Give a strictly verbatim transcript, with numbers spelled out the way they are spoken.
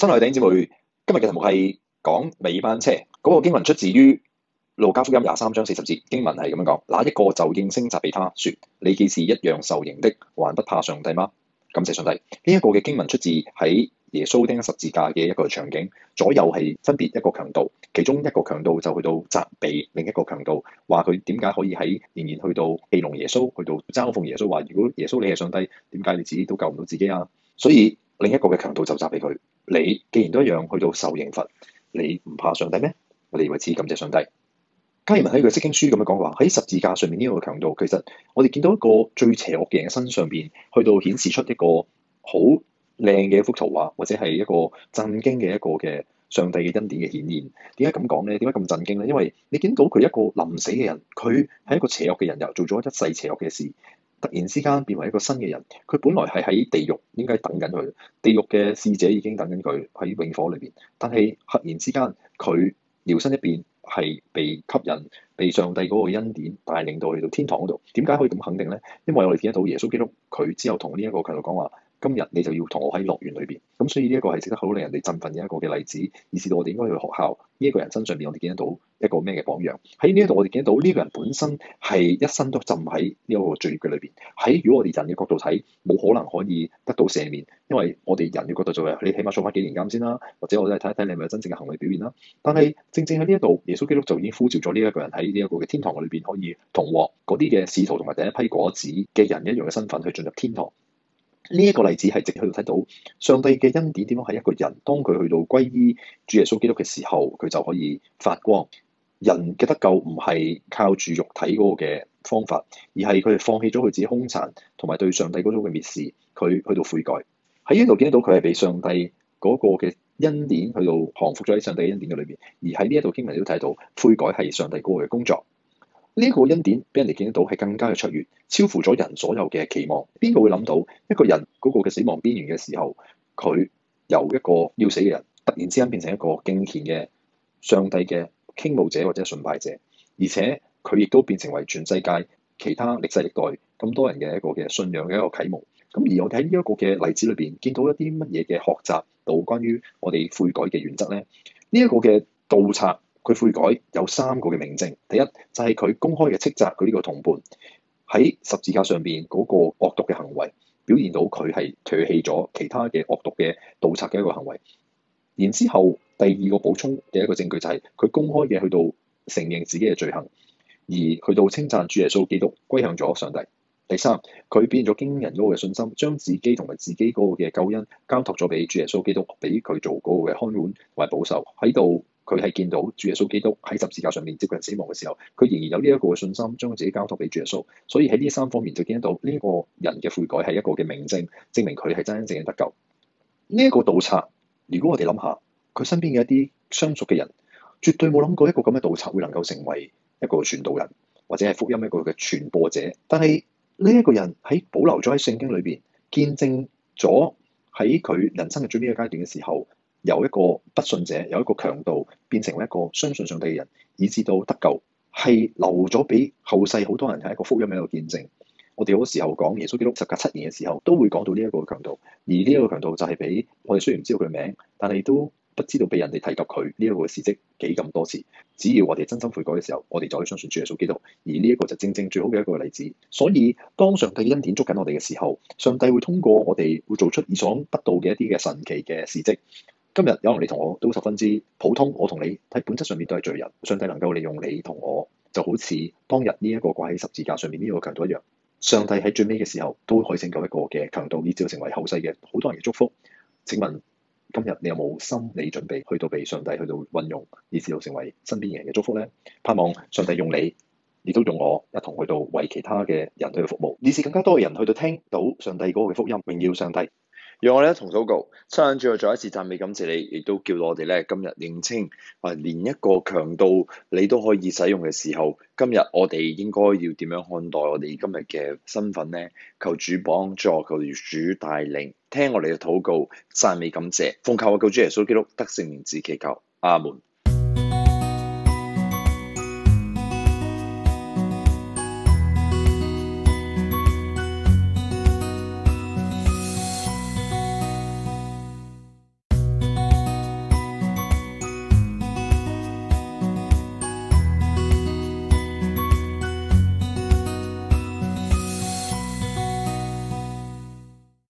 親愛的弟兄姊妹，今日嘅題目係講尾班車。嗰、那個經文出自於路加福音廿三章四十節，經文係咁樣講：那一個就應聲責備他說，你既是一樣受刑的，還不怕上帝嗎？感謝上帝。呢、這、一個嘅經文出自喺耶穌釘十字架嘅一個場景，左右係分別一個強盜，其中一個強盜就去到責備另一個強盜，話佢點解可以喺仍然去到戲弄耶穌，去到嘲諷耶穌，話如果耶穌你係上帝，點解你自己都救唔到自己啊？所以另一個嘅強盜就責備佢：你既然都一樣去到受刑罰，你唔怕上帝咩？我哋為此感謝上帝。加爾文喺佢釋經書咁樣講話，喺十字架上面呢個強盜，其實我哋見到一個最邪惡嘅人嘅身上邊，去到顯示出一個好靚嘅一幅圖畫，或者係一個震驚嘅一個嘅上帝嘅恩典嘅顯現。點解咁講咧？點解咁震驚咧？因為你見到佢一個臨死嘅人，佢係一個邪惡嘅人，又做咗一世邪惡嘅事，突然之間變為一個新嘅人。佢本來係喺地獄應該等緊佢，地獄嘅使者已經等緊佢喺永火裏邊，但係突然之間佢搖身一變，係被吸引，被上帝嗰個恩典帶領到去到天堂嗰度。點解可以咁肯定咧？因為我哋見得到耶穌基督，佢之後同呢一個強盜講話：今日你就要同我喺樂園裏邊。咁所以呢一個係值得好令人哋振奮嘅一個嘅例子，以至到我哋應該去學校呢一個人身上邊，我哋見得到一個咩嘅榜樣。喺呢一度我哋見得到呢個人本身係一生都浸喺呢一個罪孽嘅裏邊。喺如果我哋人嘅角度睇，冇可能可以得到赦免，因為我哋人嘅角度就係你起碼坐翻幾年監先啦，或者我哋睇一睇你係咪有真正嘅行為表現啦。但係正正喺呢一度，耶穌基督就已經呼召咗呢一個人喺呢一個嘅天堂裏邊，可以同獲嗰啲嘅使徒同埋第一批果子嘅人一樣嘅身份去進入天堂。呢一個例子係直去到睇到上帝嘅恩典點樣係一個人，當佢去到歸依主耶穌基督嘅時候，佢就可以發光。人嘅得救唔係靠住肉體嗰個嘅方法，而係佢哋放棄咗佢自己兇殘同埋對上帝嗰種嘅蔑視，佢去到悔改。喺呢度見得到佢係被上帝嗰個嘅恩典去到降服咗喺上帝恩典嘅裏邊，而喺呢一度經文都睇到悔改係上帝嗰個嘅工作。呢一個恩典俾人哋見得到係更加嘅卓越，超乎咗人所有嘅期望。邊個會諗到一個人嗰個嘅死亡邊緣嘅時候，佢由一個要死嘅人，突然之間變成一個敬虔嘅上帝嘅傾慕者或者崇拜者，而且佢亦都變成為全世界其他歷世歷代咁多人嘅一個嘅信仰嘅一個啟蒙。咁而我哋喺呢一個嘅例子裏邊，見到一啲乜嘢嘅學習到關於我哋悔改嘅原則咧？呢一個嘅盜賊，佢悔改有三個嘅明證。第一就係佢公開嘅斥責佢呢個同伴喺十字架上邊嗰個惡毒嘅行為，表現到佢係唾棄咗其他嘅惡毒嘅盜賊嘅一個行為。然之後第二個補充嘅一個證據就係佢公開嘅去到承認自己嘅罪行，而去到稱讚主耶穌基督歸向咗上帝。第三，佢變咗驚人嗰個嘅信心，將自己同埋自己嗰個嘅救恩交託咗俾主耶穌基督，俾佢做嗰個嘅看管同埋保守。喺度佢係見到主耶穌基督喺十字架上面接近死亡嘅時候，佢仍然有呢一個嘅信心，將自己交託俾主耶穌。所以喺呢三方面就見得到呢一個人嘅悔改係一個嘅明證，證明佢係真真正正得救。呢、這、一個盜賊，如果我哋諗下佢身邊嘅一啲相熟嘅人，絕對冇諗過一個咁嘅盜賊會能夠成為一個傳道人，或者係福音一個嘅傳播者。但係呢一個人喺保留咗喺聖經裏邊，見證咗喺佢人生嘅最尾嘅階段嘅時候，由一個不信者，由一個強盜變成一個相信上帝嘅人，以至到得救，係留咗俾後世好多人係一個福音嘅一個見證。我哋好多時候講耶穌基督十架七年嘅時候，都會講到呢一個強盜，而呢一個強盜就係俾我哋雖然唔知道佢嘅名，但係都不知道被人哋提及佢呢一個事蹟幾咁多次。只要我哋真心悔改嘅時候，我哋就可以相信主耶穌基督，而呢一個就正正最好嘅一個例子。所以當上帝恩典捉緊我哋嘅時候，上帝會通過我哋會做出意想不到嘅一啲嘅神奇嘅事蹟。今日有可能你同我都十分之普通，我同你喺本質上面都係罪人。上帝能夠利用你同我，就好似當日呢一個掛喺十字架上面呢個強盜一樣。上帝喺最尾嘅時候都可以拯救一個嘅強盜，以至成為後世嘅好多人嘅祝福。請問今日你有冇心理準備去到被上帝去到運用，以至到成為身邊人嘅祝福咧？盼望上帝用你，亦都用我一同去到為其他嘅人去服務，以至更加多嘅人去到聽到上帝嗰個嘅福音，榮耀上帝。 讓我哋一同禱告，親眼最後再一次讚美感謝你，亦都叫我哋咧今日認清，啊連一個強盜你都可以使用嘅時候，今日我哋應該要點樣看待我哋今日嘅身份呢？求主幫助，求主帶領，聽我哋嘅禱告，讚美感謝，奉靠我救主耶穌基督得勝名字祈求，阿門。